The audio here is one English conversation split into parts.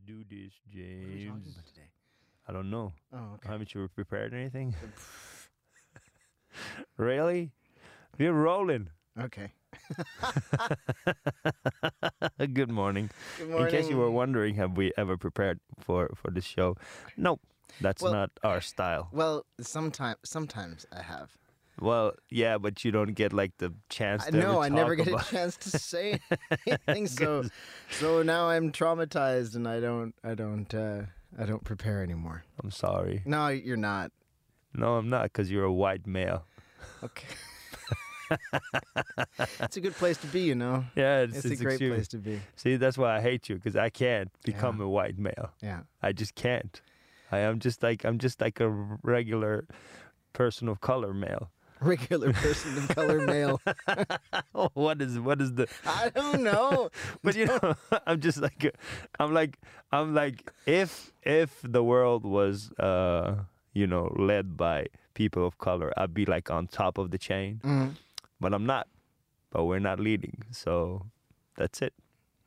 do this, What are we talking James. about today? I don't know. Oh, okay. Haven't you prepared anything? Really? We're rolling. Okay. Good morning. Good morning. In case you were wondering, have we ever prepared for this show? No, that's Well- not our style. Well, sometimes I have. Well, yeah, but you don't get like the chance to No, ever I never talk get a about- chance to say anything. So now I'm traumatized, and I don't prepare anymore. I'm sorry. No, you're not. No, I'm not, because you're a white male. Okay. It's a good place to be, you know. Yeah, It's a great extreme. place to be. See, that's why I hate you, because I can't become Yeah. a white male. Yeah. I just can't. I'm just like a regular person of color male. Regular person of color male. Oh, what is the? I don't know. But you know, I'm just like, I'm like, if the world was, led by people of color, I'd be like on top of the chain. Mhm. But I'm not. But we're not leading, so that's it.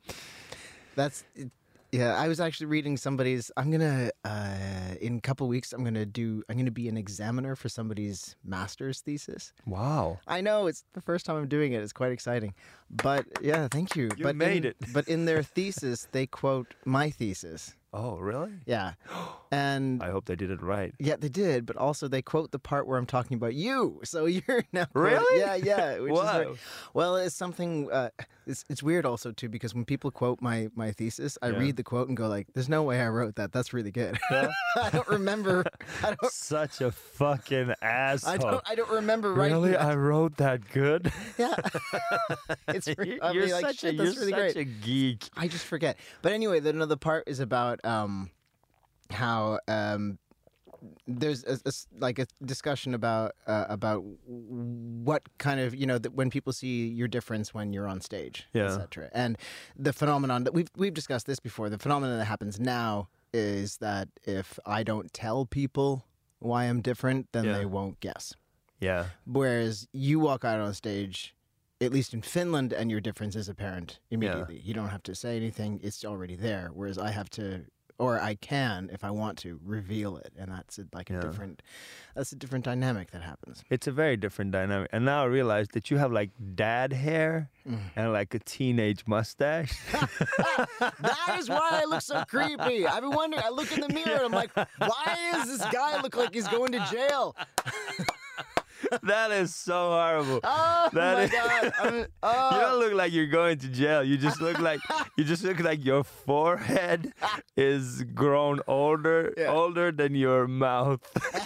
Yeah, I was actually reading somebody's. I'm gonna in a couple weeks. I'm gonna be an examiner for somebody's master's thesis. Wow. I know it's the first time I'm doing it. It's quite exciting. But yeah, thank you. You but made it. But in their thesis, they quote my thesis. Oh, really? Yeah, and I hope they did it right. yeah, they did. But also, they quote the part where I'm talking about you. So you're now Really? Yeah. Which is Wow. well, it's something. It's weird also too, because when people quote my thesis, I Yeah. read the quote and go like, "There's no way I wrote that. That's really good." I don't remember. Such a fucking asshole. I don't remember writing Really? that. I wrote that good? Yeah. It's I'll you're be like, such shit, a, that's you're really such great. a geek. I just forget. But anyway, another part is about how there's a discussion about what kind of, when people see your difference when you're on stage, Yeah. etc. And the phenomenon that we've discussed this before. The phenomenon that happens now is that if I don't tell people why I'm different, then Yeah. they won't guess. Yeah. Whereas you walk out on stage, at least in Finland, and your difference is apparent immediately. You don't have to say anything; it's already there. Whereas I have to, or I can, if I want to, reveal it, and that's a different dynamic that happens. It's a very different dynamic. And now I realize that you have like dad hair and like a teenage mustache. That is why I look so creepy. I've been wondering. I look in the mirror and I'm like, why does this guy look like he's going to jail? That is so horrible. Oh That my is- god! You don't look like you're going to jail. You just look like your forehead is grown older than your mouth.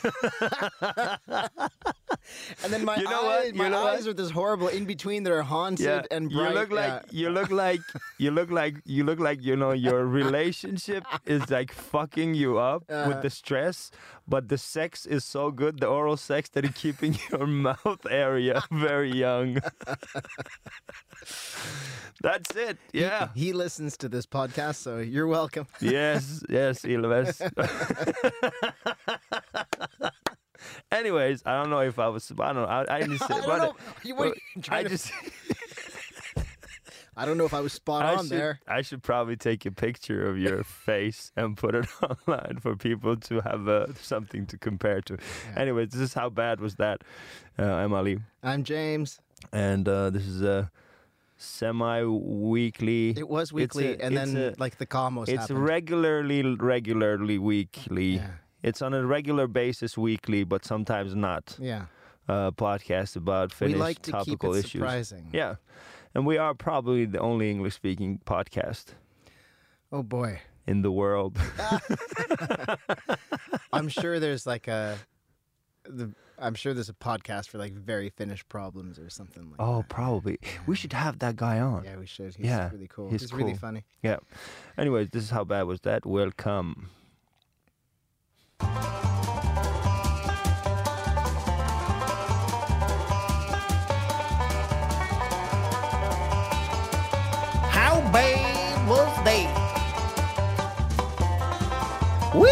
And then my You know what? eyes, You know what? eyes are this horrible in between that are haunted Yeah, and bright. you look like your relationship is like fucking you up with the stress, but the sex is so good, the oral sex, that it's keeping your mouth area very young. That's it. Yeah. He listens to this podcast, so you're welcome. Yes, Ilves. Anyways, I don't know if I was. I don't know. I just. I don't know. What are you I trying to- just. I don't know if I was spot on there. I should probably take a picture of your face and put it online for people to have something to compare to. Anyways, this is how bad was that, Emily. I'm James. And this is a semi-weekly. It was weekly, and then the Kamos It's happened. regularly weekly. Yeah. It's on a regular basis weekly, but sometimes not. Yeah. Podcast about Finnish We like to keep topical it issues. surprising. Yeah. And we are probably the only English-speaking podcast Oh boy. in the world. I'm sure there's I'm sure there's a podcast for like very Finnish problems or something like Oh, that. probably. We should have that guy on. Yeah, we should. He's Yeah, really cool. he's really cool. funny. Yeah. Anyways, this is how bad was that. Welcome. How bad was that? Woo!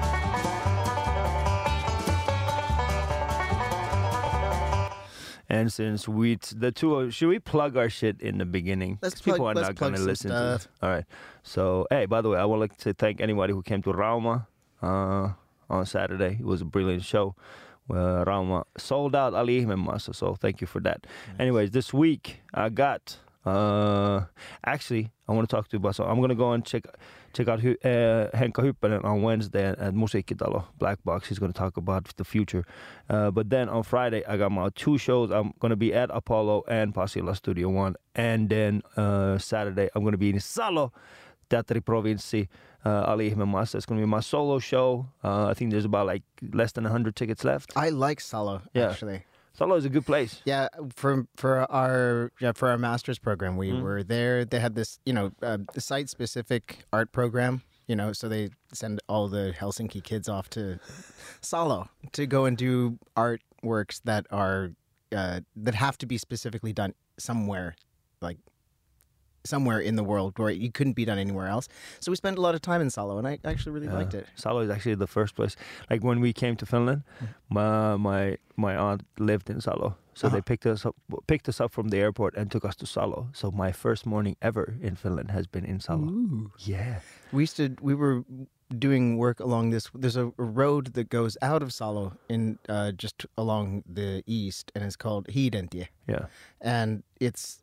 And since should we plug our shit in the beginning? Let's 'Cause people are plug- let's not going plug to some listen to this. stuff. All right. So, hey, by the way, I would like to thank anybody who came to Rauma on Saturday. It was a brilliant show. Rauma sold out Ali Ihmemaassa, so thank you for that. Nice. Anyways, this week I got actually I want to talk to you about. So I'm gonna go and check out Henkka Hyppönen on Wednesday at Musiikkitalo Black Box. He's gonna talk about the future. But then on Friday I got my 2 shows. I'm gonna be at Apollo and Pasila Studio One, and then Saturday I'm gonna be in Salo Teatteri Provinssi. Ali Ihmemaassa. It's going to be my solo show. I think there's about like less than 100 tickets left. I like Salo, Yeah. actually. Salo is a good place. Yeah, for our master's program, we were there. They had this, site specific art program. So they send all the Helsinki kids off to Salo to go and do artworks that are that have to be specifically done somewhere in the world where you couldn't be done anywhere else. So we spent a lot of time in Salo, and I actually really liked it. Salo is actually the first place. Like when we came to Finland, my aunt lived in Salo, so they picked us up from the airport and took us to Salo. So my first morning ever in Finland has been in Salo. Ooh. Yeah. We were doing work along this. There's a road that goes out of Salo in just along the east, and it's called Hiidentie. Yeah. And it's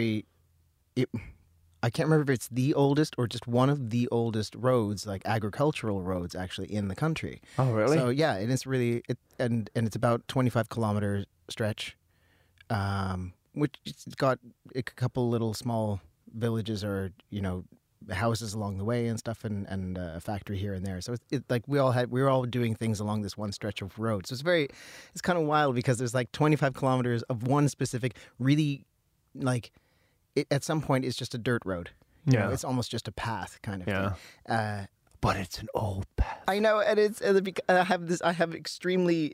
I can't remember if it's the oldest or just one of the oldest roads, like agricultural roads, actually in the country. Oh, really? So yeah, and it's really and it's about 25-kilometer stretch, which it's got a couple little small villages or houses along the way and stuff, and a factory here and there. So it's like we were all doing things along this one stretch of road. So it's kind of wild because there's like 25 kilometers of one specific really like. At some point, it's just a dirt road. Yeah. It's almost just a path kind of thing. But it's an old path. I know, and I have extremely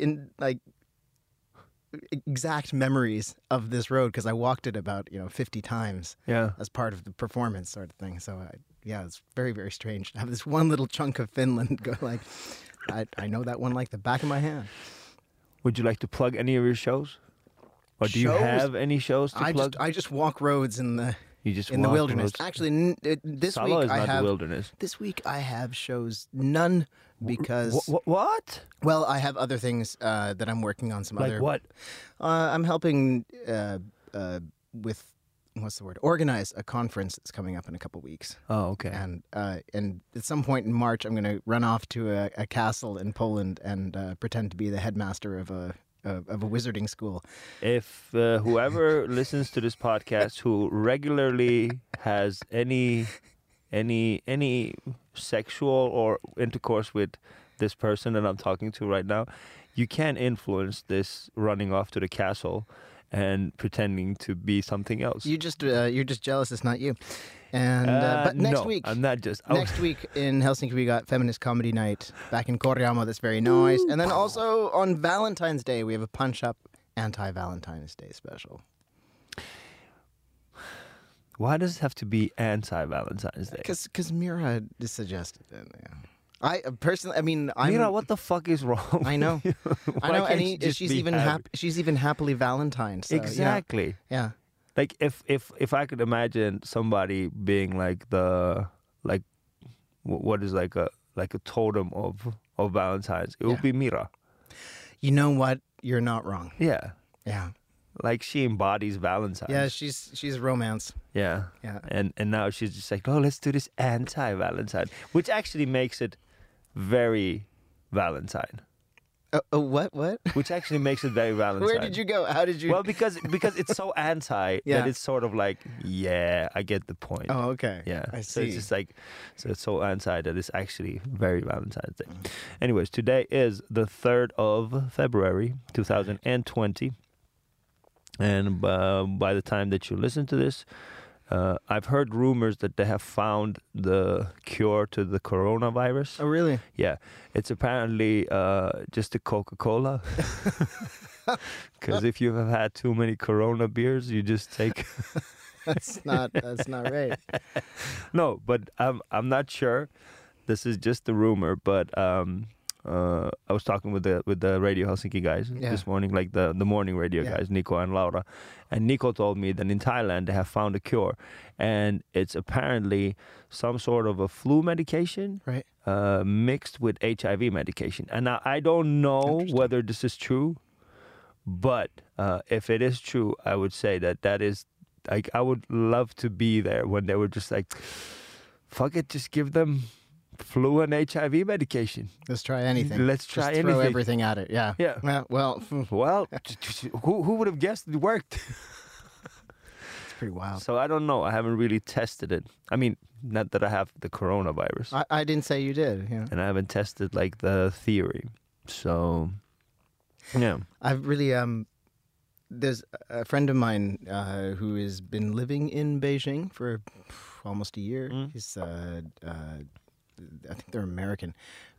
exact memories of this road because I walked it about 50 times. Yeah. As part of the performance sort of thing. So it's very, very strange to have this one little chunk of Finland go like. I know that one like the back of my hand. Would you like to plug any of your shows? Or do you have any shows to plug? I just walk roads in the walk wilderness. roads? Actually, this Salo week is I not have the wilderness. This week I have shows none because What? well I have other things that I'm working on. Some Like other what? I'm helping with what's the word? Organize a conference that's coming up in a couple weeks. Oh, okay. And at some point in March, I'm going to run off to a castle in Poland and pretend to be the headmaster of a wizarding school. If whoever listens to this podcast who regularly has any sexual or intercourse with this person that I'm talking to right now, you can influence this running off to the castle and pretending to be something else. You're just jealous it's not you. And but next no, week, I'm not just. Next week in Helsinki, we got Feminist Comedy Night back in Korjaamo. That's very nice. And then also on Valentine's Day, we have a Punch Up anti-Valentine's Day special. Why does it have to be anti-Valentine's Day? Because Mira suggested it. Yeah. I personally, Mira, what the fuck is wrong? I know, Why I know, can't and you just she's be even happy? she's even happily Valentine's. So, Exactly. Yeah. Like if I could imagine somebody being like what is like a totem of Valentine's, it would be Mira. You know what? You're not wrong. Yeah. Yeah. Like she embodies Valentine's. Yeah, she's romance. Yeah. Yeah. And now she's just like, oh, let's do this anti-Valentine, which actually makes it very Valentine. What? Which actually makes it very Valentine. Where did you go? How did you? Well, because it's so anti that it's sort of like, yeah, I get the point. Oh, okay. Yeah. I So see. it's just like, so it's so anti that it's actually very Valentine's Day. Anyways, today is the 3rd of February, 2020. And by the time that you listen to this, I've heard rumors that they have found the cure to the coronavirus. Oh, really? Yeah, it's apparently just a Coca-Cola. Because if you have had too many Corona beers, you just take. That's not right. No, but I'm not sure. This is just a rumor, but I was talking with the Radio Helsinki guys this morning, like the morning radio guys, Nico and Laura, and Nico told me that in Thailand they have found a cure, and it's apparently some sort of a flu medication, Right. Mixed with HIV medication. And now I don't know whether this is true, but if it is true, I would say that is like, I would love to be there when they were just like, fuck it, just give them flu and HIV medication. Let's try anything. Let's try Just anything. throw everything at it. Yeah. Yeah. Well, Well, who would have guessed it worked? it's pretty wild. So I don't know. I haven't really tested it. I mean, not that I have the coronavirus. I didn't say you did. You know. And I haven't tested like the theory. So, yeah. I've really there's a friend of mine who has been living in Beijing for almost a year. He's I think they're American,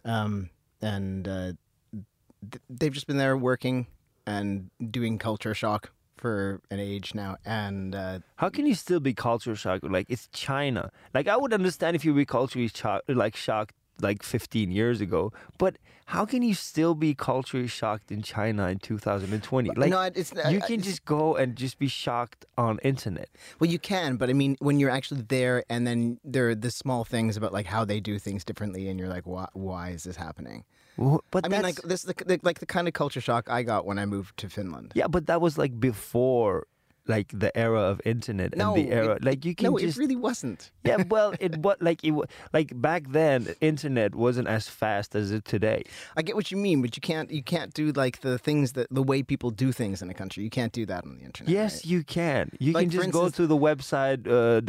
and they've just been there working and doing culture shock for an age now. And How can you still be culture shocked? Like, it's China. Like, I would understand if you be culturally shocked like 15 years ago, but how can you still be culturally shocked in China in 2020? Like, no, you can just go and just be shocked on internet. Well, you can, but I mean, when you're actually there, and then there are the small things about like how they do things differently, and you're like, why is this happening? But I mean, like this, like the kind of culture shock I got when I moved to Finland. Yeah, but that was like before, like the era of internet and the era, like you can just. No, it really wasn't. Yeah, well, like back then, internet wasn't as fast as it today. I get what you mean, but you can't do like the things the way people do things in a country. You can't do that on the internet. Yes, right? you can. You Like, can just for go instance- to the website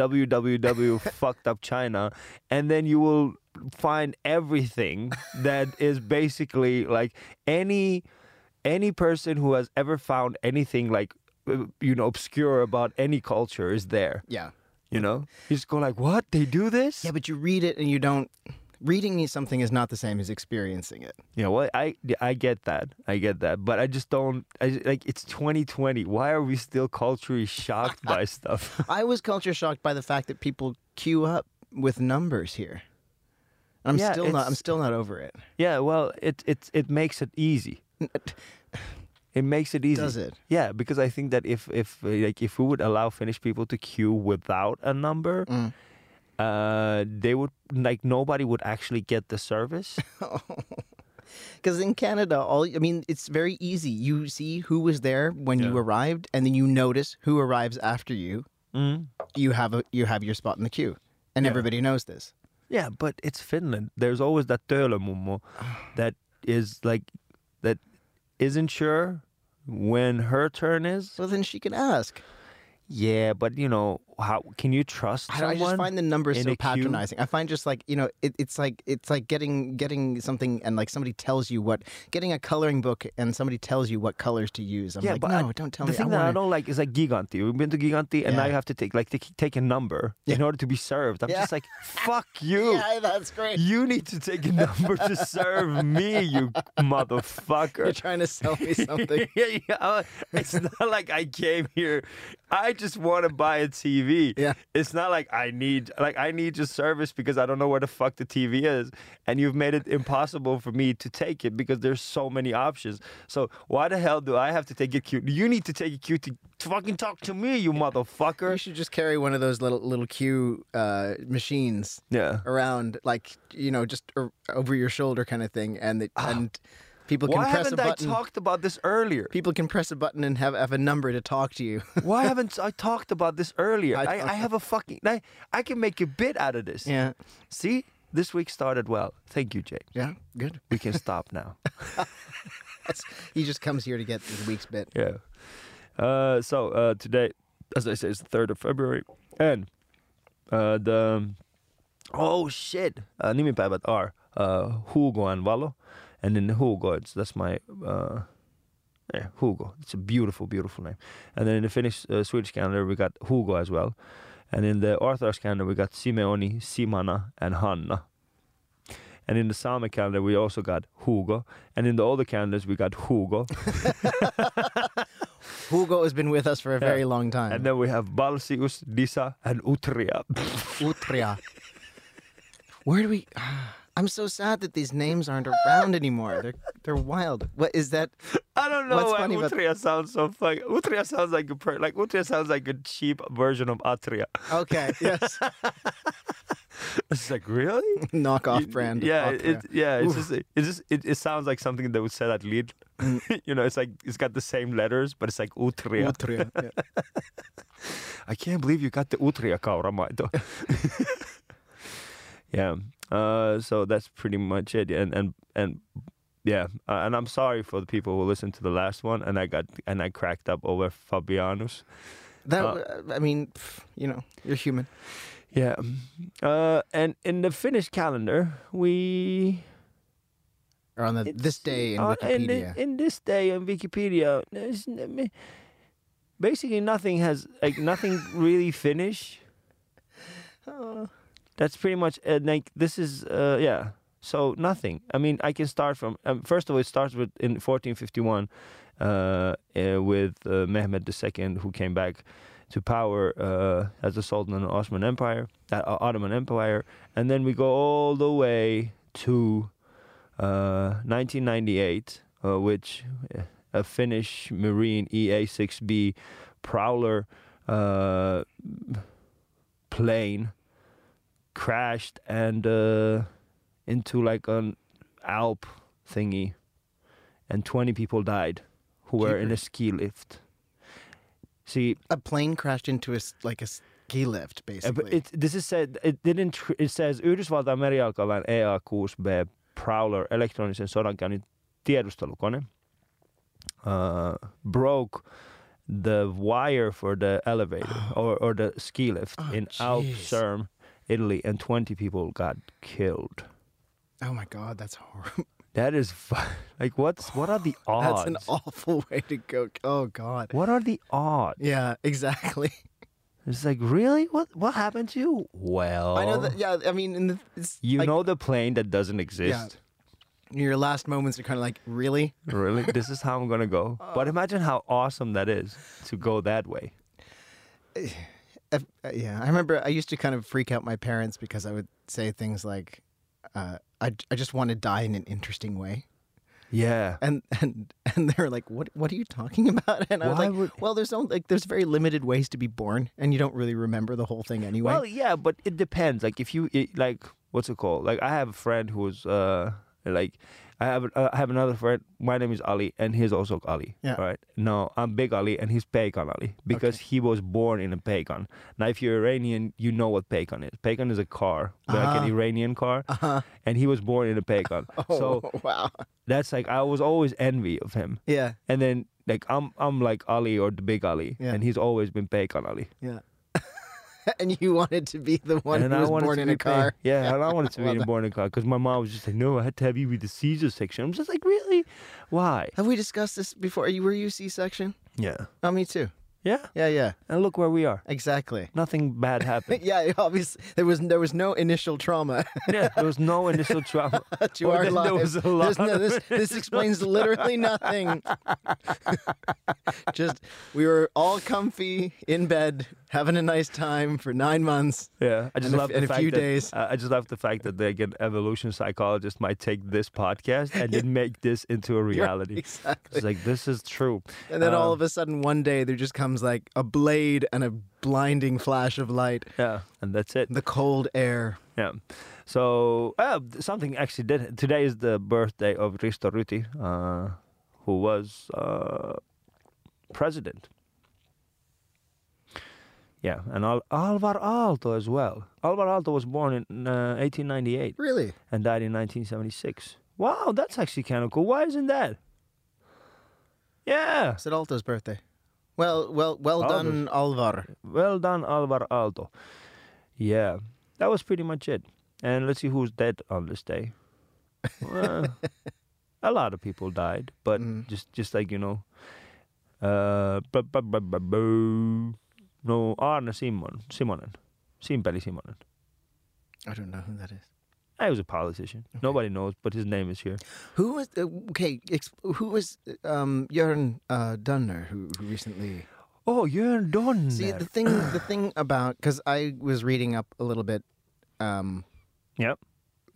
www.fuckedupchina, and then you will find everything that is basically like any person who has ever found anything like obscure about any culture is there. Yeah. You know, you just go like, what? They do this? Yeah, but you read it and you don't. Reading something is not the same as experiencing it. Yeah, well, I get that. But I just don't. Like, it's 2020. Why are we still culturally shocked by stuff? I was culture shocked by the fact that people queue up with numbers here. I'm still not over it. Yeah, well, it makes it easy. It makes it easy. Does it? Yeah, because I think that if we would allow Finnish people to queue without a number, they would, like, nobody would actually get the service. Because in Canada, it's very easy. You see who was there when you arrived, and then you notice who arrives after you. You have your spot in the queue, and everybody knows this. Yeah, but it's Finland. There's always that Töölömummo that isn't sure when her turn is. Well, then she can ask. Yeah, but how can you trust someone? I just find the numbers in so a queue? patronizing. I find just like it's like getting something and like somebody tells you getting a coloring book and somebody tells you what colors to use. I'm like, but no, don't tell me. The thing that I don't like is like Gigantti. We've been to Gigantti, and now you have to take a number in order to be served. I'm just like, fuck you. Yeah, that's great. You need to take a number to serve me, you motherfucker. You're trying to sell me something. Yeah. It's not like I came here. I just want to buy a TV. Yeah. It's not like I need your service because I don't know where the fuck the TV is, and you've made it impossible for me to take it because there's so many options. So why the hell do I have to take a queue? You need to take a queue to fucking talk to me, you motherfucker. You should just carry one of those little queue machines around, like just over your shoulder kind of thing, and people can Why press a haven't I button. talked about this earlier? People can press a button and have a number to talk to you. Why haven't I talked about this earlier? I have a fucking... I can make a bit out of this. Yeah. See? This week started well. Thank you, Jake. Yeah, good. We can stop now. He just comes here to get this week's bit. Yeah. So today, as I say, it's the 3rd of February. And nimipäivät are Hugo and Valo. And in Hugo, that's my Hugo. It's a beautiful, beautiful name. And then in the Finnish, Swedish calendar, we got Hugo as well. And in the Orthodox calendar, we got Simeoni, Simana, and Hanna. And in the Sami calendar, we also got Hugo. And in the older calendars, we got Hugo. Hugo has been with us for a very long time. And then we have Balsius, Disa, and Utria. Utria. Where do we... I'm so sad that these names aren't around anymore. They're wild. What is that? I don't know What's why funny about- Utria sounds so funny. Utria sounds like Utria sounds like a cheap version of Atria. Okay, yes. It's like, really? Knockoff brand. of Yeah, Atria. it sounds like something that would say at Lidl. You know, it's like it's got the same letters, but it's like Utria. Utria, yeah. I can't believe you got the Utria kauramaito. Yeah. So that's pretty much it. And yeah. And I'm sorry for the people who listened to the last one, and I cracked up over Fabianus. I mean, you know, you're human. Yeah. And in the Finnish calendar, we Or on this day in Wikipedia. in this day in Wikipedia, basically nothing really Finnish. That's pretty much like this is yeah. So nothing. I mean, I can start from first of all. It starts with in 1451 with Mehmed II, who came back to power as the Sultan of the Ottoman Empire, and then we go all the way to 1998, which a Finnish Marine EA-6B Prowler plane crashed and into like an Alp thingy, and 20 people died who were in a ski lift. See, A plane crashed into a ski lift, basically. It says Yhdysvaltain merijalkaväen EA-6B Prowler elektronisen sodankäynnin tiedustelukone broke the wire for the elevator or the ski lift in Alp Serm, Italy, and 20 people got killed. Oh my God, that's horrible. That is like what are the odds? That's an awful way to go. Oh God. What are the odds? Yeah, exactly. It's like, really? What happened to you? Well, I know that. Yeah, I mean, it's you like, know the plane that doesn't exist. your last moments are kind of like, really? Really? This is how I'm gonna go. But imagine how awesome that is to go that way. Yeah, I remember I used to kind of freak out my parents because I would say things like, I just want to die in an interesting way. Yeah. And they're like, what are you talking about? And I was Why like, well, there's very limited ways to be born, and you don't really remember the whole thing anyway. Well, yeah, but it depends. Like if you like, what's it called? Like I have a friend who's like I have another friend. My name is Ali, and he's also Ali. Yeah. Right. No, I'm Big Ali, and he's Peikan Ali because he was born in a Peikan. Now, if you're Iranian, you know what Peikan is. Peikan is a car, like an Iranian car, and he was born in a Peikan. So wow. that's like I was always envy of him. Yeah. And then like I'm like Ali or the Big Ali, Yeah. and he's always been Peikan Ali. Yeah. And you wanted to be the one And who I was wanted born to in be a car. Yeah, and I wanted to be born in a car because my mom was just like, no, I had to have you with the Caesar section. I'm just like, really? Why? Have we discussed this before? Were you C-section? Yeah. Oh, me too. Yeah. Yeah. And look where we are. Exactly. Nothing bad happened. Yeah, obviously there was no initial trauma Yeah, there was no initial trauma. to our There lives. was a lot. This explains literally nothing. Just we were all comfy in bed, having a nice time for 9 months. Yeah, I just And love in the a fact few that days. I just love the fact that like an evolution psychologist might take this podcast and then make this into a reality. Exactly. It's like this is true. And then all of a sudden, one day, there just comes like a blade and a blinding flash of light. Yeah, and that's it. The cold air. Yeah. So something actually did. Today is the birthday of Risto Ryti, who was president. Yeah, and Alvar Aalto as well. Alvar Aalto was born in 1898 Really? and died in 1976. Wow, that's actually kind of cool. Why isn't that? Yeah. It's at Alto's birthday. Well done, Alvar. Well done, Alvar Aalto. Yeah, that was pretty much it. And let's see who's dead on this day. A lot of people died, but just like, you know, no, Arne Simonen. Simpeli Simonen. I don't know who that is. He was a politician. Okay. Nobody knows, but his name is here. Who was who was Jörn Donner who recently? Oh, Jörn Donner. See, the thing about, because I was reading up a little bit. Yep.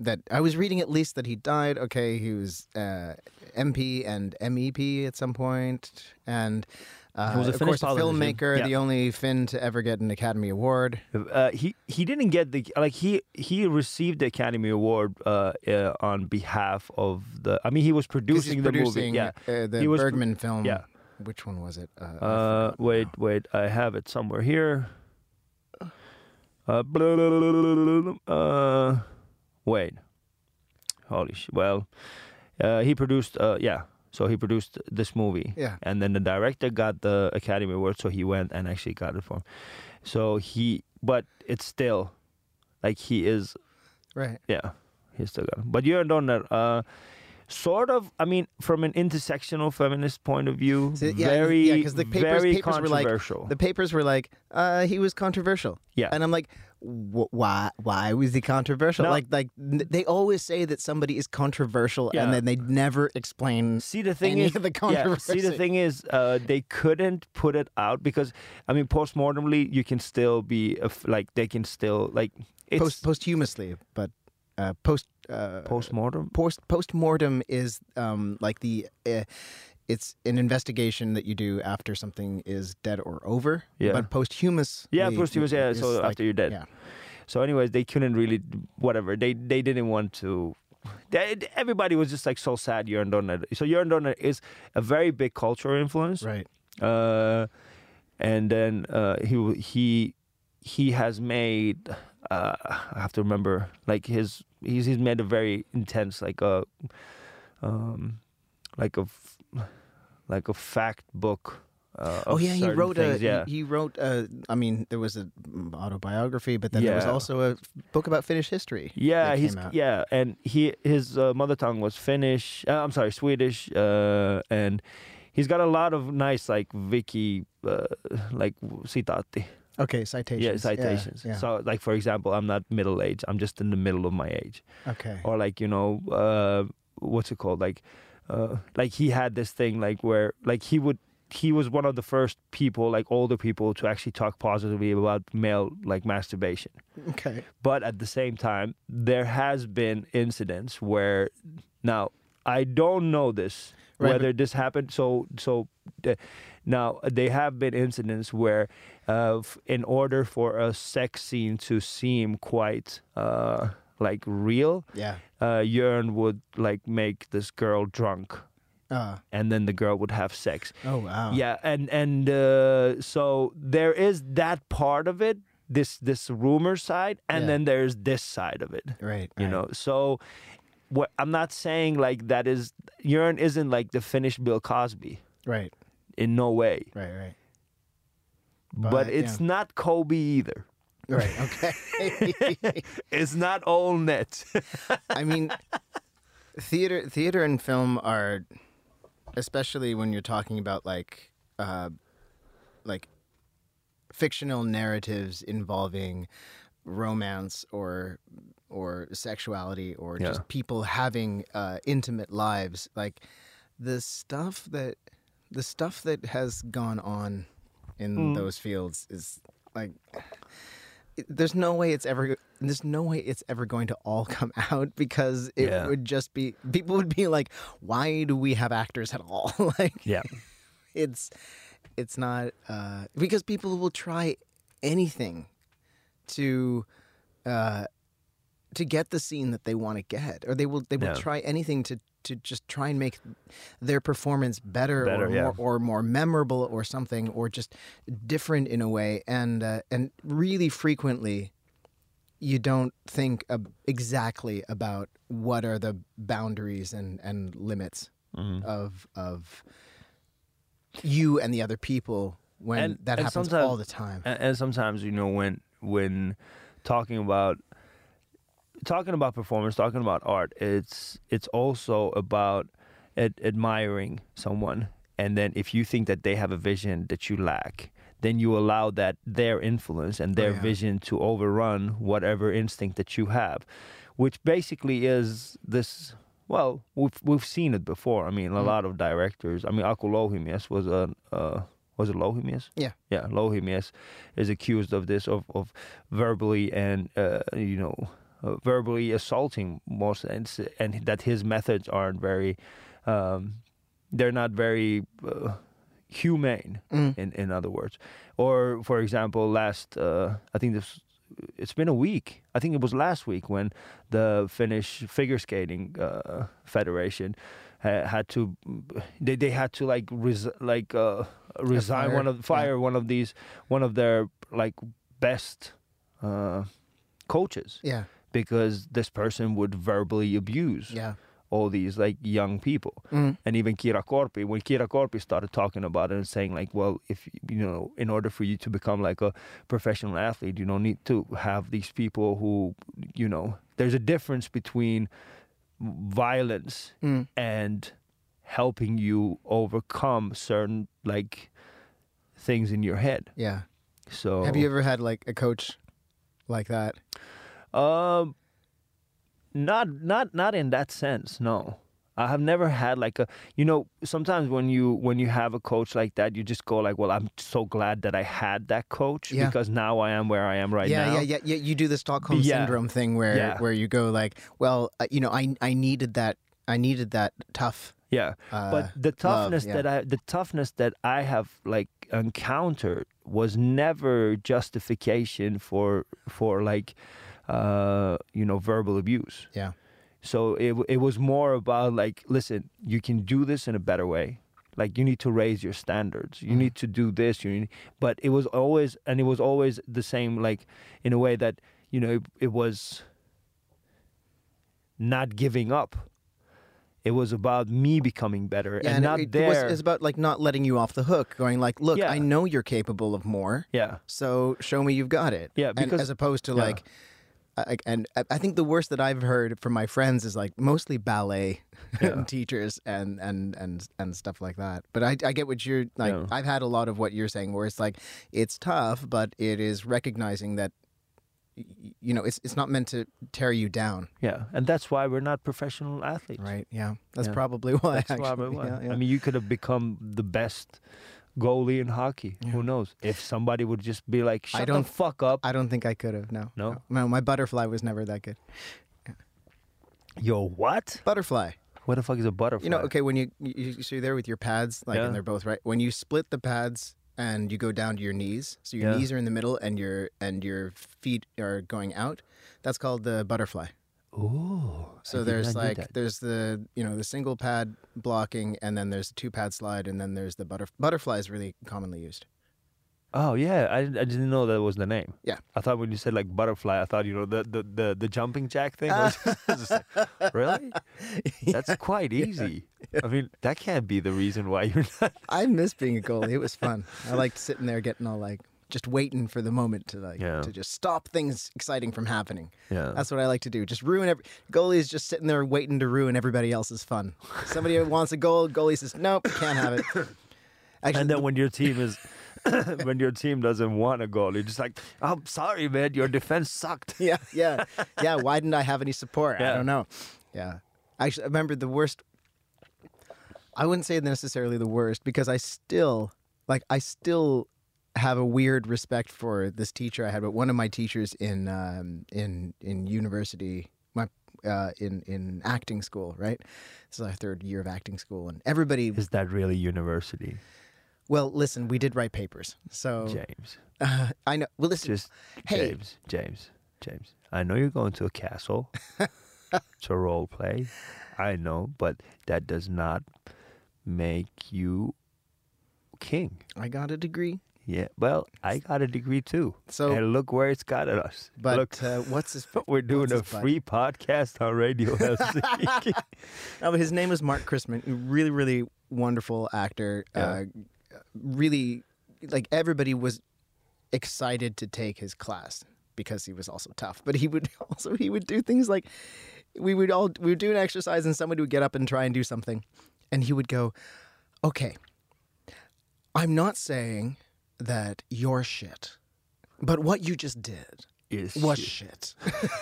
that I was reading at least that he died. Okay, he was MP and MEP at some point, and He was a of Finnish course a politician. filmmaker, Yeah. the only Finn to ever get an Academy Award. He didn't get the he received the Academy Award on behalf of the. I mean, he was 'Cause producing he's the producing, movie. Yeah, the he was Bergman film. yeah. Which one was it? I forgot Wait, now. wait, I have it somewhere here. Blah, blah, blah, blah, blah, wait. Holy shit. Well, he produced, so he produced this movie. Yeah. And then the director got the Academy Award, so he went and actually got it for him. So but it's still, like he is, Right. yeah, he still got it. But you're done that, sort of, I mean, from an intersectional feminist point of view, So, yeah, very, yeah, 'cause the papers very were like, controversial. the papers were like, he was controversial. Yeah. And I'm like, why was he controversial? No. They always say that somebody is controversial, Yeah. and then they never explain See, the thing any is, of the yeah, controversy. see, the thing is, they couldn't put it out because, I mean, postmortemly, you can still be they can still like it's posthumously, but postmortem. postmortem is like it's an investigation that you do after something is dead or over. Yeah. But posthumous. Yeah, posthumous. Yeah, is so like- after you're dead. Yeah. So, anyways, they couldn't really whatever. They didn't want to. Everybody was just like so sad. Jörn Donner. So Jörn Donner is a very big cultural influence. Right. And then he has made I have to remember like he's made a very intense like a fact book. Oh of yeah, he certain wrote things, yeah. he wrote I mean there was an autobiography, but then there was Yeah. also a book about Finnish history. Yeah, that he's came out. and his mother tongue was Finnish. I'm sorry, Swedish, and he's got a lot of nice like Wiki like citati. Okay, citations. Yeah, citations. Yeah. So like for example, I'm not middle age. I'm just in the middle of my age. Okay. Or like what's it called? Like he had this thing like where like he was one of the first people, like older people, to actually talk positively about male like masturbation. Okay. But at the same time, there has been incidents where, now I don't know this Right, whether this happened. Now there have been incidents where, in order for a sex scene to seem quite like real, Yeah. Jörn would like make this girl drunk, and then the girl would have sex. Oh wow. Yeah, and so there is that part of it, this rumor side, and Yeah. then there's this side of it. Right. You know, so what I'm not saying like that is Jörn isn't like the Finnish Bill Cosby Right. in no way, Right. but it's not Kobe either. Right. Okay. It's not all net. I mean, theater and film are, especially when you're talking about like fictional narratives involving romance or sexuality or Yeah. just people having intimate lives, like the stuff that has gone on in those fields is like there's no way it's ever going to all come out, because it Yeah. would just be, people would be like, why do we have actors at all? Like Yeah. it's not because people will try anything to get the scene that they want to get, or they will Yeah. try anything to just try and make their performance better or yeah. more memorable or something, or just different in a way, and really frequently you don't think exactly about what are the boundaries and limits Mm-hmm. of you and the other people when that happens sometimes- all the time. And sometimes, you know, when talking about performance, talking about art, it's also about admiring someone, and then if you think that they have a vision that you lack, then you allow that their influence and their yeah. vision to overrun whatever instinct that you have, which basically is this. Well, we've seen it before. I mean, a lot of directors. I mean, Aku Louhimies was it Louhimies? Yeah. Yeah, Louhimies is accused of this, of verbally and verbally assaulting most, and that his methods aren't very, they're not very humane. In other words, or for example, I think it's been a week. I think it was last week when the Finnish figure skating federation had to resign Fire. one of their like best coaches. Yeah. Because this person would verbally abuse all these like young people. And even Kira Korpi, when Kira Korpi started talking about it and saying like, well, if in order for you to become like a professional athlete, you don't need to have these people who, there's a difference between violence and helping you overcome certain like things in your head. Yeah. So have you ever had like a coach like that? Not in that sense. No, I have never had like a. Sometimes when you have a coach like that, you just go like, well, I'm so glad that I had that coach because now I am where I am right now. Yeah. You do the Stockholm syndrome thing where you go like, well, I needed that. I needed that tough. Yeah, but the toughness that I have like encountered was never justification for like. Verbal abuse. Yeah. So it was more about like, listen, you can do this in a better way. Like you need to raise your standards. You need to do this. But it was always the same. Like in a way that it was not giving up. It was about me becoming better, and not there. It's about like not letting you off the hook. Going like, look, I know you're capable of more. Yeah. So show me you've got it. Yeah. Because as opposed to like. And I think the worst that I've heard from my friends is like mostly ballet teachers and stuff like that. But I get what you're like. Yeah. I've had a lot of what you're saying, where it's like it's tough, but it is recognizing that it's not meant to tear you down. Yeah, and that's why we're not professional athletes. Right. Yeah, that's probably why. That's probably why. Yeah. I mean, you could have become the best goalie in hockey. Yeah. Who knows? If somebody would just be like, shut the fuck up. I don't think I could have, no. No, my butterfly was never that good. Yeah. Your what? Butterfly. What the fuck is a butterfly? Okay, when so you're there with your pads, like, and they're both right. When you split the pads and you go down to your knees, so your knees are in the middle and your feet are going out, that's called the butterfly. Ooh. So there's the the single pad blocking, and then there's the 2-pad slide, and then there's the butterfly is really commonly used. Oh yeah, I didn't know that was the name. Yeah, I thought when you said like butterfly, I thought the jumping jack thing. I was just like, really? That's quite easy. I mean, that can't be the reason why you're not. I miss being a goalie. It was fun. I liked sitting there getting all like. Just waiting for the moment to to just stop things exciting from happening. Yeah, that's what I like to do. Just ruin goalie is just sitting there waiting to ruin everybody else's fun. Somebody wants a goal, goalie says nope, can't have it. Actually, and then when your team doesn't want a goal, you're just like, oh, sorry, man, your defense sucked. Yeah. Why didn't I have any support? Yeah. I don't know. Yeah, actually, I remember the worst. I wouldn't say necessarily the worst because I still have a weird respect for this teacher I had, but one of my teachers in university, in acting school, right? This is our 3rd year of acting school, and everybody. Is that really university? Well, listen, we did write papers, so James. I know. Well, listen, hey, James. I know you're going to a castle to role play. I know, but that does not make you king. I got a degree. Yeah, well, I got a degree too. So, and look where it's got us. But look, what's his? We're doing a free podcast on Radio Helsinki. No, but his name is Mark Chrisman. Really, really wonderful actor. Yeah. Really, like everybody was excited to take his class because he was also tough. But he would do things like we would do an exercise and somebody would get up and try and do something, and he would go, "Okay, I'm not saying that you're shit, but what you just did was shit."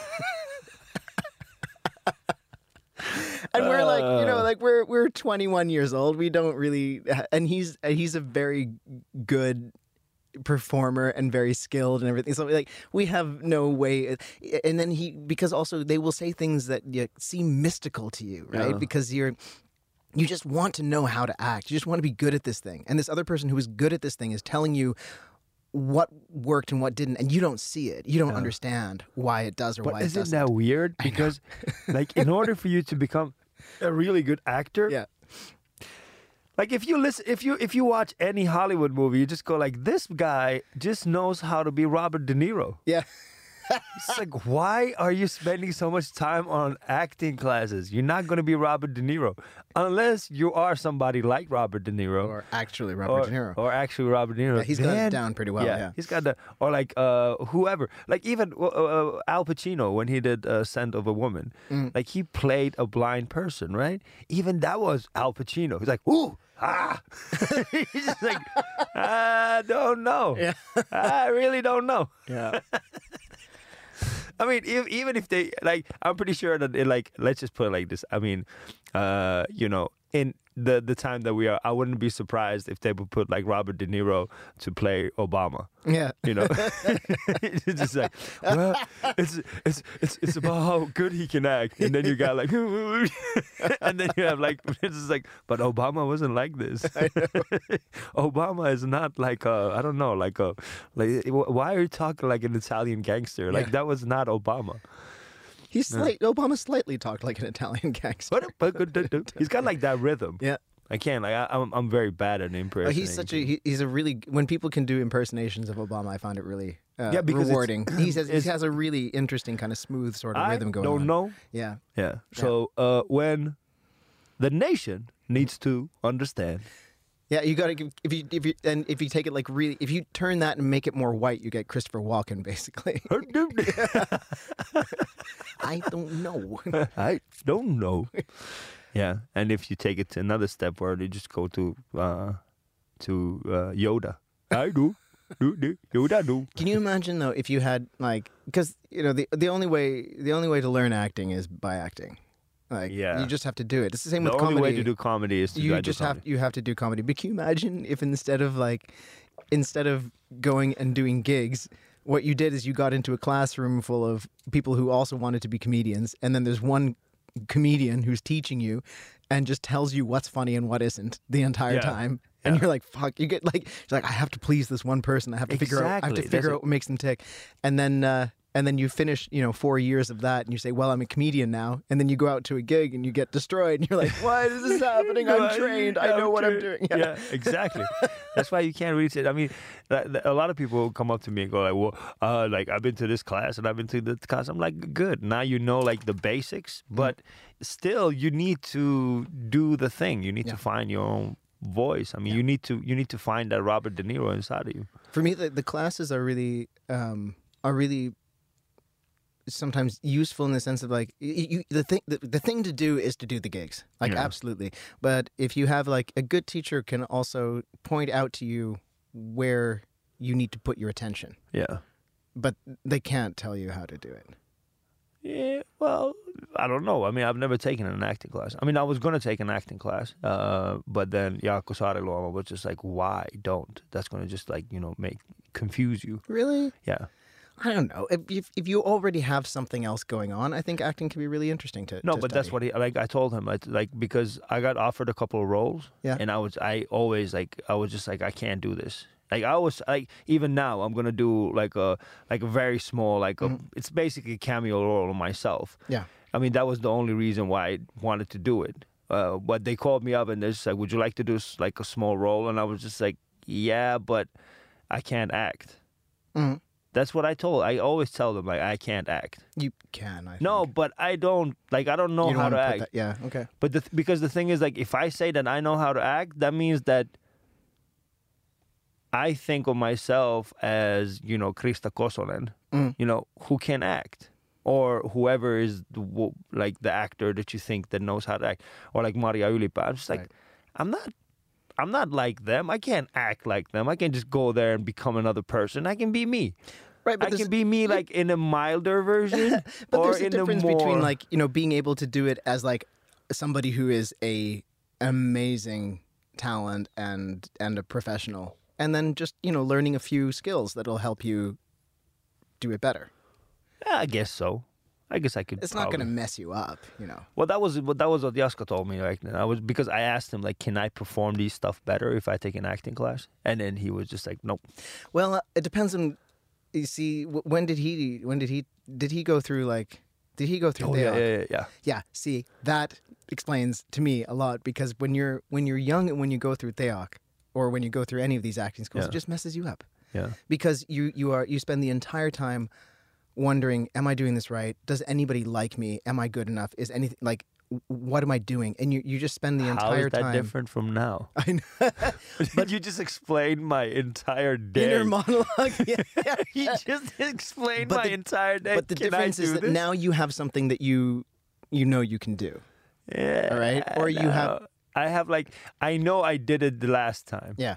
And we're like, we're 21 years old. We don't really, and he's a very good performer and very skilled and everything. So like we have no way. And then because also they will say things that seem mystical to you, right? Yeah. Because you just want to know how to act. You just want to be good at this thing. And this other person who is good at this thing is telling you what worked and what didn't, and you don't see it. You don't understand why it does or why it doesn't. But isn't that weird? Because, like, in order for you to become a really good actor, Yeah. like if you watch any Hollywood movie, you just go like, this guy just knows how to be Robert De Niro. Yeah. It's like, why are you spending so much time on acting classes? You're not going to be Robert De Niro unless you are somebody like Robert De Niro. Or actually Robert De Niro. Or actually Robert De Niro. Yeah, he's got it down pretty well, yeah. He's got or like whoever. Like even Al Pacino, when he did Scent of a Woman, like he played a blind person, right? Even that was Al Pacino. He's like, ooh, ah. He's just like, I don't know. Yeah. I really don't know. Yeah. I mean, even if they, like, I'm pretty sure that, let's just put it like this. I mean, in the time that we are, I wouldn't be surprised if they would put, like, Robert De Niro to play Obama. Yeah. You know? It's just like, well, it's about how good he can act. And then you got, like, and then you have, like, it's just like, but Obama wasn't like this. Obama is not like, I don't know, like, why are you talking like an Italian gangster? Like, that was not Obama. Obama slightly talked like an Italian gangster. He's got like that rhythm. Yeah. I can't. Like, I'm very bad at impersonating. He's a really, when people can do impersonations of Obama, I find it really because rewarding. He has a really interesting kind of smooth sort of rhythm going on. I don't know. Yeah. Yeah. So when the nation needs to understand. Yeah, you got to give, if you take it like really, if you turn that and make it more white, you get Christopher Walken basically. I don't know. I don't know. Yeah, and if you take it to another step where you just go to Yoda. I do. Yoda do. Can you imagine though if you had like, because the only way to learn acting is by acting. Like, you just have to do it. It's the same with comedy. The only way to do comedy is to you have to do comedy. But can you imagine if instead of going and doing gigs, what you did is you got into a classroom full of people who also wanted to be comedians, and then there's one comedian who's teaching you and just tells you what's funny and what isn't the entire time. And you're like, fuck, you're like, I have to please this one person. I have to figure out what makes them tick. And then you finish, 4 years of that, and you say, well, I'm a comedian now. And then you go out to a gig and you get destroyed. And you're like, why is this happening? I'm trained. I know what I'm doing. Yeah, exactly. That's why you can't reach it. I mean, a lot of people come up to me and go like, well, like, I've been to this class and I've been to this class. I'm like, good. Now you know, like, the basics. But still, you need to do the thing. You need to find your own voice. I mean, you need to find that Robert De Niro inside of you. For me, the classes are really sometimes useful in the sense of like the thing to do is to do the gigs, like absolutely. But if you have like a good teacher can also point out to you where you need to put your attention. Yeah. But they can't tell you how to do it. Yeah, well, I don't know. I mean, I've never taken an acting class. I mean, I was going to take an acting class, but then Jaakko Saariluoma was just like, why don't? That's going to just like, confuse you. Really? Yeah. I don't know. If you already have something else going on, I think acting can be really interesting to No, to but study. that's what I told him, because I got offered a couple of roles, and I was just like, I can't do this. Like I was like, even now I'm gonna do like a very small it's basically a cameo role of myself. Yeah. I mean, that was the only reason why I wanted to do it. But they called me up and they're just like, would you like to do like a small role? And I was just like, yeah, but I can't act. Mm-hmm. That's what I always tell them, like, I can't act. You can, I think. No, but I don't know how to act. Yeah, okay. But because the thing is, like, if I say that I know how to act, that means that I think of myself as, Krista Kosonen, who can act. Or whoever is the actor that you think that knows how to act. Or like Maria Ylipää. I'm just like, I'm not like them. I can't act like them. I can just go there and become another person. I can be me. Right, but I can be me like in a milder version. But or there's a in difference a more... between like, being able to do it as like somebody who is a amazing talent and a professional. and then just learning a few skills that'll help you do it better. Yeah, I guess so. I guess I could. It's not going to mess you up, Well, that was what Jaska told me. Like, because I asked him, like, can I perform these stuff better if I take an acting class? And then he was just like, nope. Well, it depends on. You see, when did he go through like? Did he go through? Yeah. Yeah. See, that explains to me a lot, because when you're young and when you go through Theok, or when you go through any of these acting schools, it just messes you up. Yeah. Because you spend the entire time wondering, am I doing this right? Does anybody like me? Am I good enough? Is anything like, what am I doing? And you just spend the entire time. How is that different from now? I know. But you just explained my entire day. Inner monologue. Yeah. He just explained my entire day. But the difference is that now you have something that you know you can do. Yeah. All right. Or you have. I have I know I did it the last time. Yeah.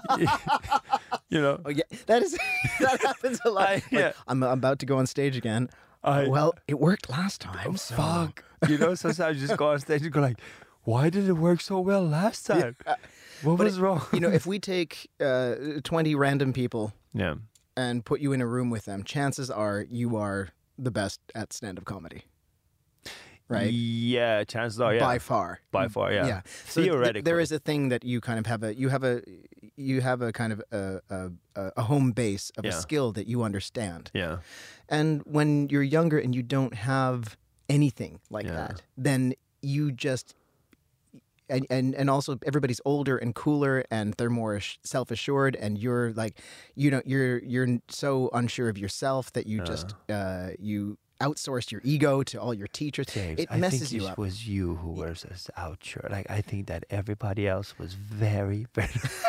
Oh yeah. That happens a lot. I'm about to go on stage again. Well, it worked last time. So. Fuck. Sometimes you just go on stage and go like, why did it work so well last time? What was wrong? If we take 20 random people yeah, and put you in a room with them, chances are you are the best at stand-up comedy. Right? Yeah, chances are, yeah. By far, yeah. Yeah. So theoretically, there is a thing that you kind of have a kind of a home base of a skill that you understand. Yeah. And when you're younger and you don't have anything like that, then you just and also everybody's older and cooler and they're more self-assured, and you're like, you're so unsure of yourself that you just you outsourced your ego to all your teachers. James, it messes I think you it up. was you who was this outshirt. Like, I think that everybody else was very, very...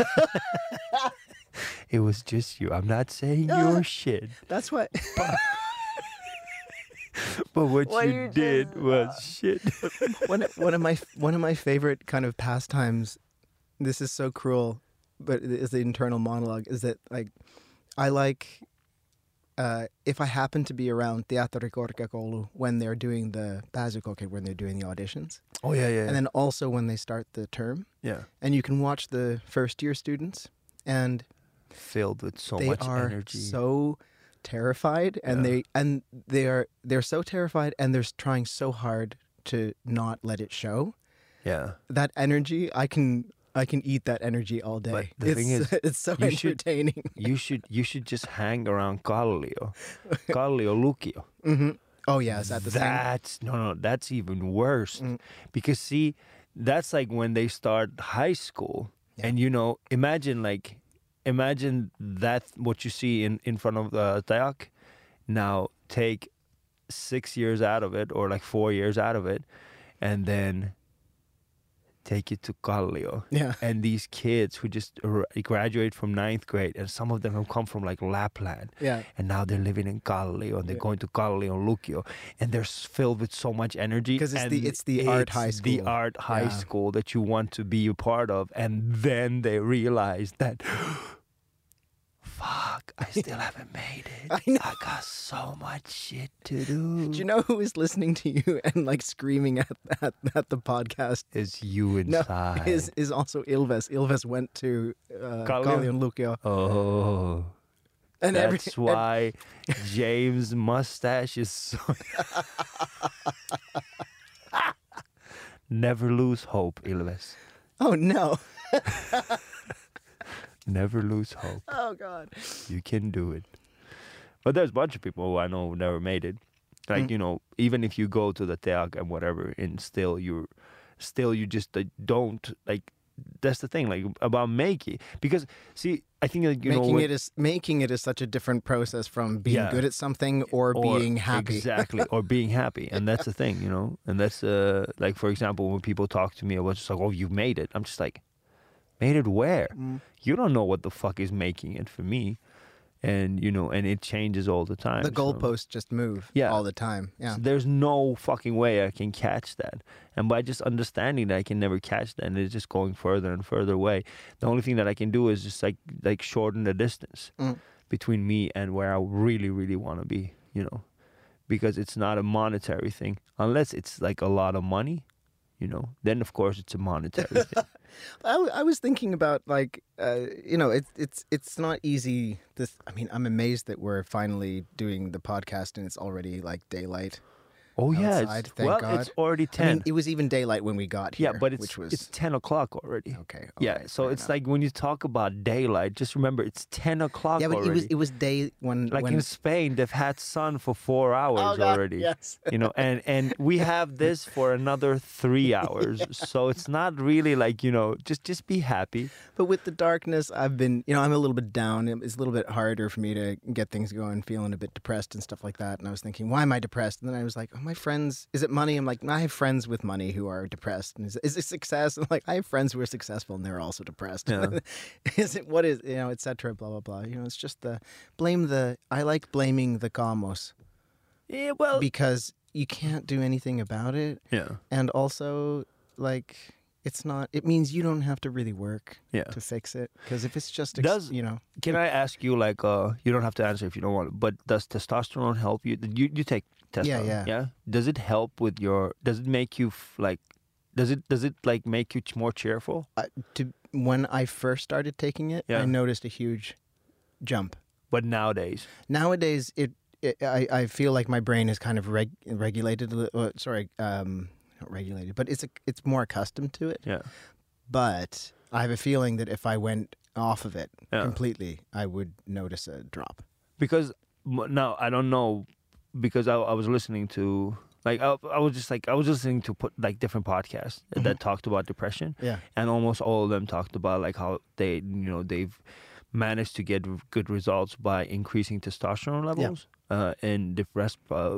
It was just you. I'm not saying your shit. That's what... But what you did was shit. One of my favorite kind of pastimes, this is so cruel, but it is the internal monologue, is that I like... if I happen to be around Teatterikorkeakoulu when they're doing the pääsykokeet, when they're doing the auditions. Oh, yeah. And then also when they start the term. Yeah. And you can watch the first year students, and filled with so much energy. They are so terrified, and they're so terrified, and they're trying so hard to not let it show. Yeah. That energy, I can eat that energy all day. But the thing is, it's so entertaining. You should just hang around Kallio Lukio. Mm-hmm. Oh yeah, is that the same? No, that's even worse. Because see, that's like when they start high school, and imagine that what you see in front of the Teak. Now take 6 years out of it, or like 4 years out of it, and then take it to Kallio. Yeah. And these kids who just graduate from 9th grade, and some of them have come from like Lapland. Yeah. And now they're living in Kallio, and they're going to Kallio Lukio, and they're filled with so much energy. Because it's the art high school. The art high school that you want to be a part of. And then they realize that, fuck, I still haven't made it. I know. I got so much shit to do. Do you know who is listening to you and like screaming at the podcast? Is you inside. No, is also Ilves. Ilves went to Kallio Lukio. Oh. And that's why James' mustache is so... Never lose hope, Ilves. Oh, no. Never lose hope. Oh, God. You can do it. But there's a bunch of people who I know who never made it. Like, even if you go to the Teak and whatever, and still you just don't, like, that's the thing, like, about making. Because, see, I think, like, making it is such a different process from being good at something or being happy. Exactly, or being happy. And that's the thing, And that's, like, for example, when people talk to me about just like, oh, you've made it. I'm just like, made it where? You don't know what the fuck is making it for me. And, and it changes all the time. The goalposts just move all the time. Yeah. So there's no fucking way I can catch that. And by just understanding that I can never catch that, and it's just going further and further away, the only thing that I can do is just like shorten the distance between me and where I really, really want to be, Because it's not a monetary thing. Unless it's like a lot of money, you know, then of course it's a monetary thing. I was thinking about like you know it's not easy. I mean, I'm amazed that we're finally doing the podcast and it's already like daylight. Oh yeah, outside, thank God. it's already 10. I mean, it was even daylight when we got here. yeah, but which was it's 10 o'clock already. okay. Yeah, okay, so fair it's enough. like when you talk about daylight, just remember it's 10 o'clock yeah, but already. it was day when Like when, in Spain, they've had sun for 4 hours oh, God, already. Yes. You know, and we have this for another 3 hours. So it's not really like, you know, just be happy. But with the darkness, I've been, you know, I'm a little bit down. It's a little bit harder for me to get things going, feeling a bit depressed and stuff like that. And I was thinking, why am I depressed? And then I was like, oh, my friends, is it money? I'm like, I have friends with money who are depressed. And is it success? And like, I have friends who are successful and they're also depressed. Yeah. Is it, what is, you know, et cetera, blah, blah, blah. You know, it's just I like blaming the cosmos Yeah, well, because you can't do anything about it. yeah. And also, like, it means you don't have to really work Yeah. to fix it. Because if it's just, you know. Can I ask you, like, you don't have to answer if you don't want to, but does testosterone help you? You take testosterone, Yeah. Does it help with does it make you, does it, like, make you more cheerful? When I first started taking it, Yeah. I noticed a huge jump. But nowadays, Nowadays, I feel like my brain is kind of regulated. Not regulated, but it's more accustomed to it. yeah. But I have a feeling that if I went off of it Yeah. completely, I would notice a drop. Because now I don't know, because I was listening to, like, I was listening to like different podcasts that talked about depression, Yeah. and almost all of them talked about like how they've managed to get good results by increasing testosterone levels. And the rest,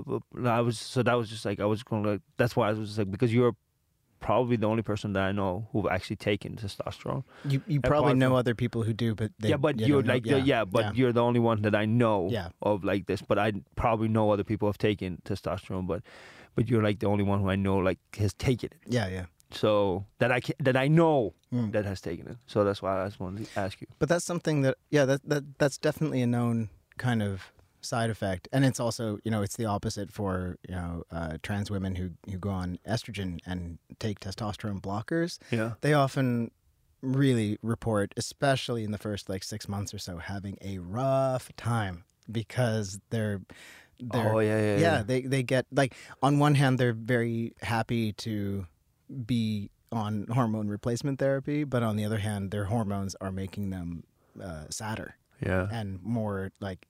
that's why I was just like, because you're probably the only person that I know who've actually taken testosterone. You probably Apart know from- other people who do, but Yeah, but you you're don't know. like, you're the only one that I know Yeah. of like this. But I probably know other people have taken testosterone, but you're like the only one who I know like has taken it. Yeah. So that I know Mm. that has taken it. So that's why I just wanted to ask you. But that's something that's definitely a known kind of side effect, and it's also, you know, it's the opposite for, you know, trans women who go on estrogen and take testosterone blockers. Yeah. They often really report, especially in the first like 6 months or so, having a rough time because they're Oh yeah. they get, like, on one hand they're very happy to be on hormone replacement therapy, but on the other hand their hormones are making them sadder Yeah. and more like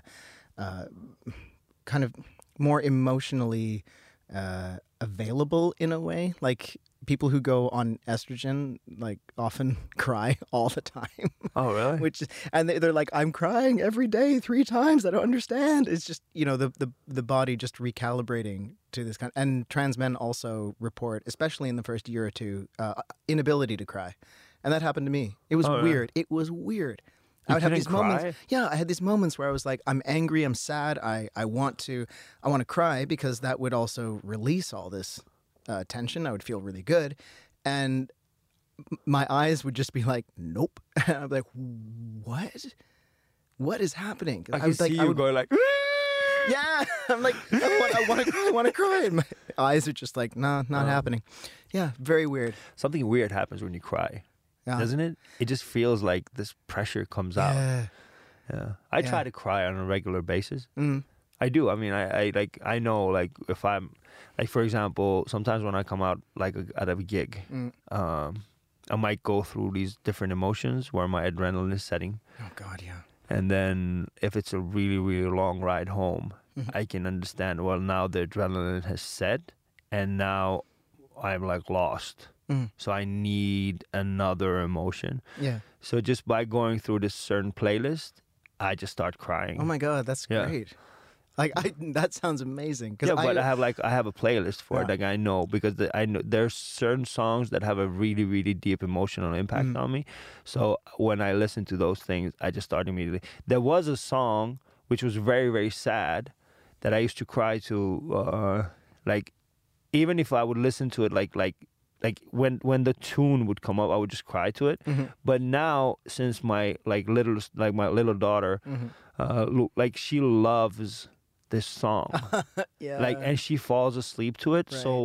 kind of more emotionally available in a way. Like, people who go on estrogen like often cry all the time. Oh really? Which, and they're like, I'm crying every day 3 times. I don't understand. It's just, you know, the body just recalibrating to this kind. And trans men also report, especially in the first year or two, inability to cry, and that happened to me. It was Oh, weird. It was weird. You I would have couldn't these moments. cry? Yeah, I had these moments where I was like, I'm angry, I'm sad, I want to cry, because that would also release all this tension. I would feel really good, and my eyes would just be like, nope. And I'd be like, what is happening? I can see you going like. Yeah, I'm like, I want to cry, I want to cry, and my eyes are just like, nah, not happening. Yeah, very weird. Something weird happens when you cry, Yeah. doesn't it? It just feels like this pressure comes out. Yeah. Yeah. I Yeah. try to cry on a regular basis. Mm. I do. I mean, I know, like, if I'm, like, for example, sometimes when I come out, like, out of a gig, I might go through these different emotions where my adrenaline is setting. Oh God, yeah. And then if it's a really, really long ride home, I can understand, well, now the adrenaline has set and now I'm, like, lost. So I need another emotion. Yeah. So just by going through this certain playlist, I just start crying. Oh my God, that's Yeah. great. Like, that sounds amazing. 'Cause Yeah, but I have a playlist for it. Yeah. Like, I know, because I know there's certain songs that have a really, really deep emotional impact on me. So when I listen to those things, I just start immediately. There was a song which was very, very sad that I used to cry to. Like, even if I would listen to it, like when the tune would come up, I would just cry to it. But now, since my little daughter, like, she loves this song. Yeah. Like, and she falls asleep to it. Right. So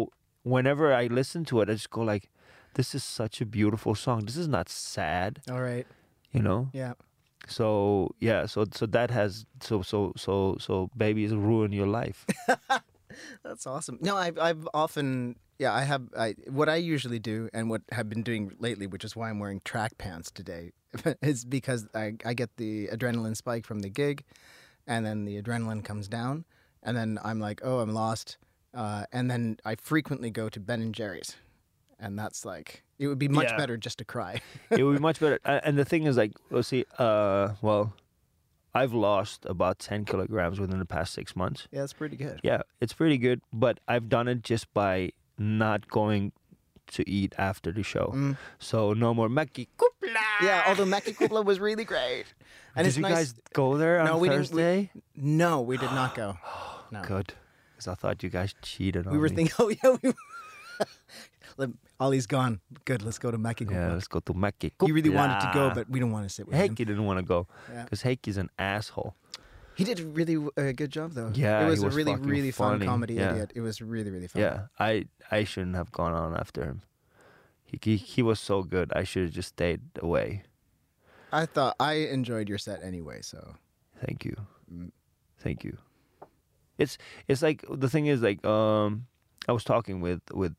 whenever I listen to it, I just go like, this is such a beautiful song. This is not sad, All right. you know? Yeah. So yeah, so that has so babies ruin your life. That's awesome. No, I've often, what I usually do and what I've been doing lately, which is why I'm wearing track pants today, is because I get the adrenaline spike from the gig, and then the adrenaline comes down, and then I'm like, oh, I'm lost, and then I frequently go to Ben and Jerry's, and that's like, it would be much Yeah. better just to cry. It would be much better. And the thing is, like, let's see, I've lost about 10 kilograms within the past 6 months. Yeah, that's pretty good. Yeah, it's pretty good, but I've done it just by not going to eat after the show. Mm. So no more Mäki Kupla. Yeah, although Mäki Kupla was really great. And Did it's you nice. guys go there on No, we didn't- Thursday? No, we did not go. No. Good. Because I thought you guys cheated on We were me. thinking, oh yeah, Ollie's gone. Good, let's go to Mäki Yeah, Kupla. let's go to Mäki Kupla. He really wanted to go, but we don't want to sit with him. Heikki didn't want to go Yeah. because Heikki's an asshole. He did a really good job, though. Yeah, it he was a was really, fucking really fun funny. comedy Yeah. idiot. It was really, really fun. Yeah, I shouldn't have gone on after him. He was so good. I should have just stayed away. I thought I enjoyed your set anyway. So Thank you. Mm. Thank you. It's like the thing is like I was talking with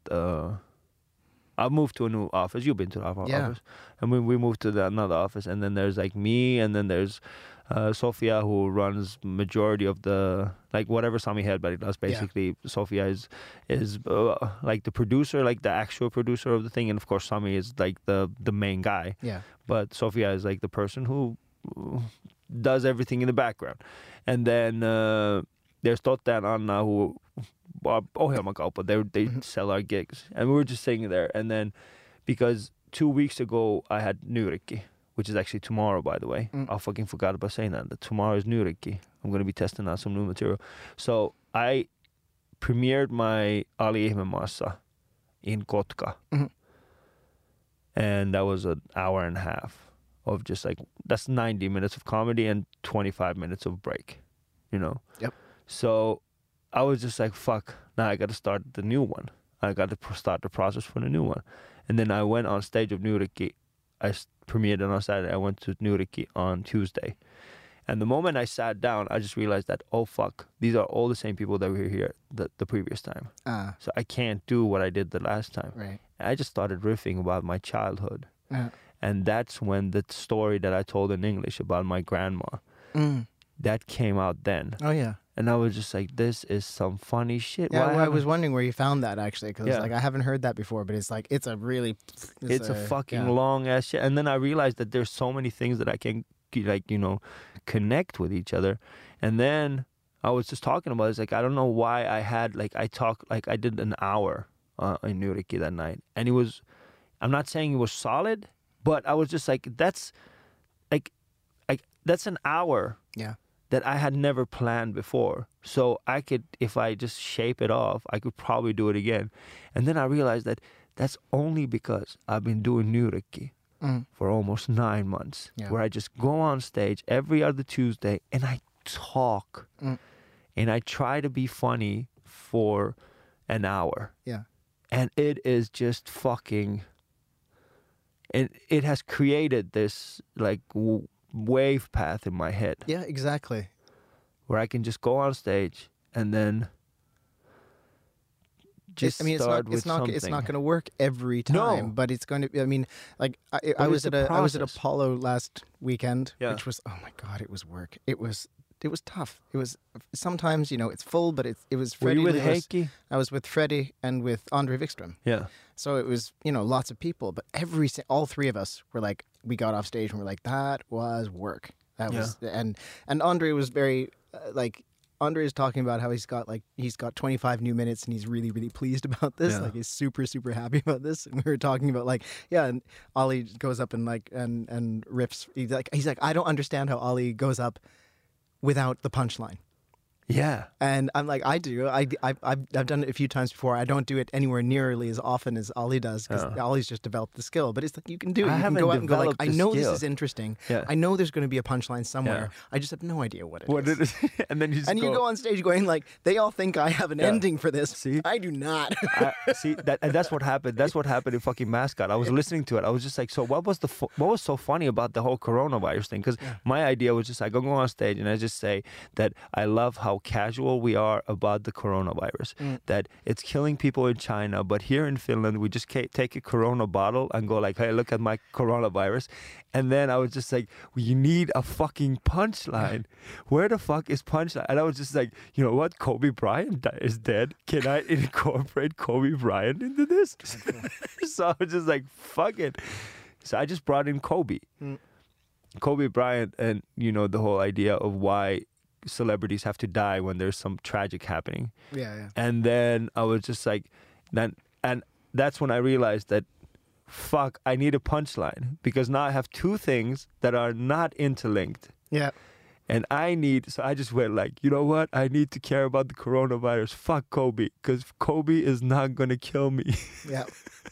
I moved to a new office. You've been to our Yeah. office, and we moved to another office. And then there's like me, and then there's Sofia, who runs majority of the like whatever Sami Hedberg does. Basically, Sofia is like the producer, like the actual producer of the thing, and of course Sami is like the main guy. yeah, But Sofia is like the person who does everything in the background. And then there's Totta and Anna who are ohjelmakauppa. They sell our gigs. And we were just sitting there. And then because 2 weeks ago I had Nyrikki, which is actually tomorrow, by the way. Mm. I fucking forgot about saying that tomorrow is Nyrikki. I'm going to be testing out some new material. So I premiered my Ali Ihmemaassa in Kotka. Mhm. And that was an hour and a half of just like, that's 90 minutes of comedy and 25 minutes of break, you know? Yep. So I was just like, fuck, now I got to start the new one. I got to start the process for the new one. And then I went on stage of Nyrikki. I premiered it on Saturday. I went to Nyrikki on Tuesday. And the moment I sat down, I just realized that, oh fuck, these are all the same people that were here the previous time. So I can't do what I did the last time. right. I just started riffing about my childhood. Yeah. And that's when the story that I told in English about my grandma, Mm. that came out then. Oh yeah. And I was just like, this is some funny shit. Yeah, Why well, I was haven't- wondering where you found that actually, because Yeah. like I haven't heard that before, but it's like it's a really It's a fucking yeah. long ass shit. And then I realized that there's so many things that I can like, you know, connect with each other. And then I was just talking about it. It's like, I don't know why I had like, I did an hour in Nyrikki that night. And it was, I'm not saying it was solid, but I was just like, that's an hour Yeah. that I had never planned before. So I could, if I just shape it off, I could probably do it again. And then I realized that that's only because I've been doing Nyrikki Mm. for almost 9 months, Yeah. where I just go on stage every other Tuesday and I talk Mm. and I try to be funny for an hour. Yeah. And it is just fucking, it has created this like wave path in my head Yeah, exactly. where I can just go on stage and then just I mean, start with it's not something. it's not going to work every time, No. but it's going to. I mean, like I But was it's at a I was at process. Apollo last weekend, Yeah. which was, oh my god, it was work. It was tough. It was sometimes, you know, it's full, but it was Were Freddie you with Lewis. Heikki? I was with Freddie and with Andre Wikström. Yeah. So it was, you know, lots of people, but all three of us were like, we got off stage and we're like, that was work. That was, and Andre was very, Andre is talking about how he's got 25 new minutes and he's really, really pleased about this. Yeah. Like he's super, super happy about this. And we were talking about like, yeah, and Ollie goes up and like, and riffs. He's like, I don't understand how Ollie goes up without the punchline. Yeah. And I'm like, I do. I've done it a few times before. I don't do it anywhere nearly as often as Ollie does because Ollie's just developed the skill. But it's like you can do it. You can go out and go like, I know this is interesting. Yeah. I know there's going to be a punchline somewhere. I just have no idea what it is. And then you just you go on stage going like, they all think I have an ending for this. See? I do not. That's what happened. That's what happened in fucking Mascot. I was listening to it. I was just like, so what was so funny about the whole coronavirus thing? Because my idea was just I go on stage and I just say that I love how casual we are about the coronavirus. That it's killing people in China, but here in Finland we just take a Corona bottle and go like, hey, look at my coronavirus. And then I was just like, well, you need a fucking punchline. Where the fuck is punchline? And I was just like, you know what? Kobe Bryant is dead. Can I incorporate Kobe Bryant into this? So I was just like, fuck it. So I just brought in Kobe. Kobe Bryant, and you know the whole idea of why celebrities have to die when there's some tragic happening. Yeah. And then I was just like, and that's when I realized that, fuck, I need a punchline because now I have two things that are not interlinked. Yeah. And so I just went like, you know what? I need to care about the coronavirus. Fuck Kobe, because Kobe is not going to kill me. Yeah.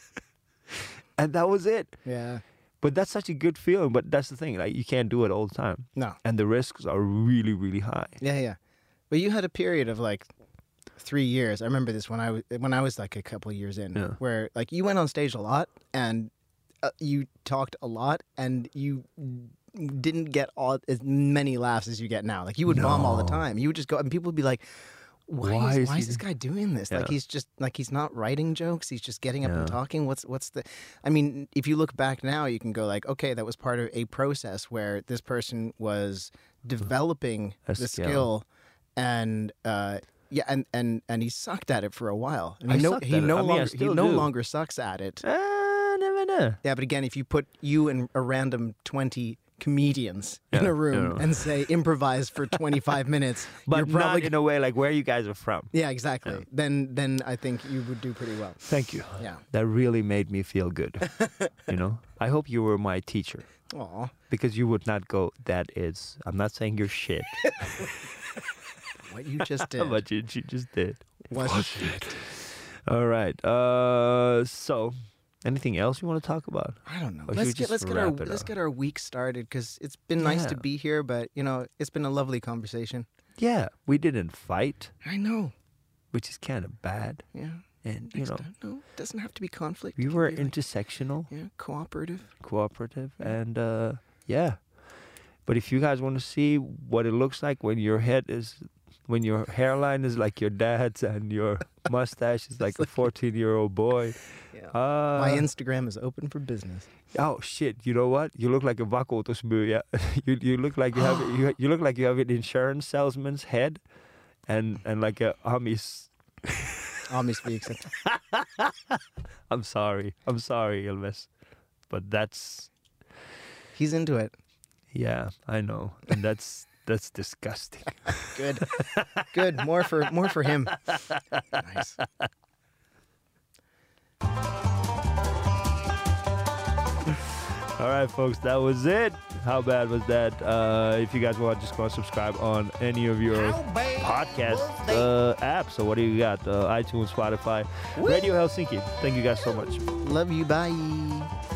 And that was it. Yeah. But that's such a good feeling. But that's the thing, like you can't do it all the time. No. And the risks are really, really high. Yeah. But you had a period of like 3 years. I remember this when I was like a couple of years in, where like you went on stage a lot and you talked a lot and you didn't get as many laughs as you get now. Like you would bomb all the time. You would just go and people would be like, why is this guy doing this? Like he's not writing jokes. He's just getting up and talking. What's the? I mean, if you look back now, you can go like, okay, that was part of a process where this person was developing the skill, and and he sucked at it for a while. And he no longer sucks at it. Never know. Yeah, but again, if you put you and a random 20 comedians in a room and say improvise for 25 minutes, but you're probably not in a way like where you guys are from. Yeah, exactly. Yeah. Then I think you would do pretty well. Thank you. Yeah, that really made me feel good. You know, I hope you were my teacher. Aw. Because you would not go, that is, I'm not saying you're shit. What you just did. What you just did. Was shit. All right. So, anything else you want to talk about? I don't know. Let's get our week started because it's been nice to be here, but you know it's been a lovely conversation. Yeah, we didn't fight. I know, which is kind of bad. Yeah, and no, it doesn't have to be conflict. We were intersectional. Cooperative, and yeah. But if you guys want to see what it looks like when your hairline is like your dad's and your mustache is like a 14-year-old boy. Yeah. My Instagram is open for business. Oh shit! You know what? You look like a vakuutusmyyjä. You look like you look like you have an insurance salesman's head, and like a Amis. Amis viikset. I'm sorry, Ilves, but that's. He's into it. Yeah, I know, and that's disgusting. Good. More for him. Nice. All right, folks, that was it. How bad was that? If you guys want, just go and subscribe on any of your podcast apps. So what do you got? iTunes, Spotify, Radio Helsinki. Thank you guys so much. Love you. Bye.